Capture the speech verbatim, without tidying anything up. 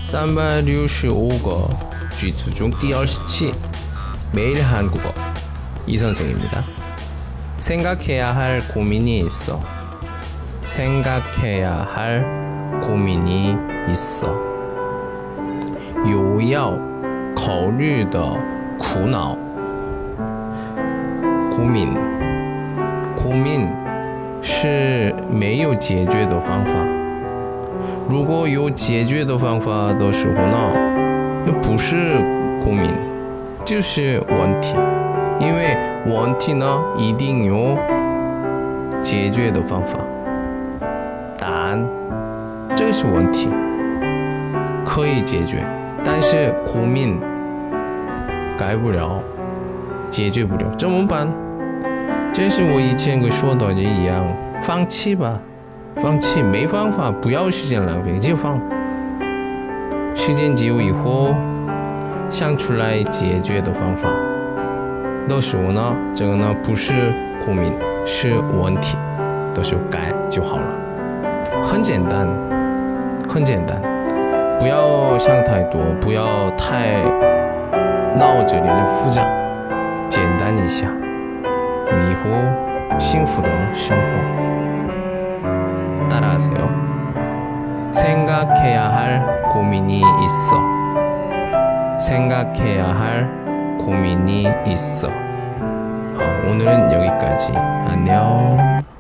삼백육십오 거句子중第二十期 매일 한국어 이 선생입니다. 생각해야 할 고민이 있어. 생각해야 할 고민이 있어. 有要考虑的苦恼。고민 고민是没有解决的方法。如果有解决的方法的时候呢，那不是고민，就是问题。因为问题呢，一定有解决的方法。答案，这是问题，可以解决，但是고민改不了，解决不了，怎么办？这是我以前跟说的一样，放弃吧。放弃没方法，不要时间浪费就放。时间久以后想出来解决的方法的时候呢，这个呢不是고민，是问题的时候改就好了。很简单，很简单，不要想太多，不要太脑子里的复杂，简单一下，以后幸福的生活。따라하세요. 생각해야 할 고민이 있어. 생각해야 할 고민이 있어. 어, 오늘은 여기까지. 안녕.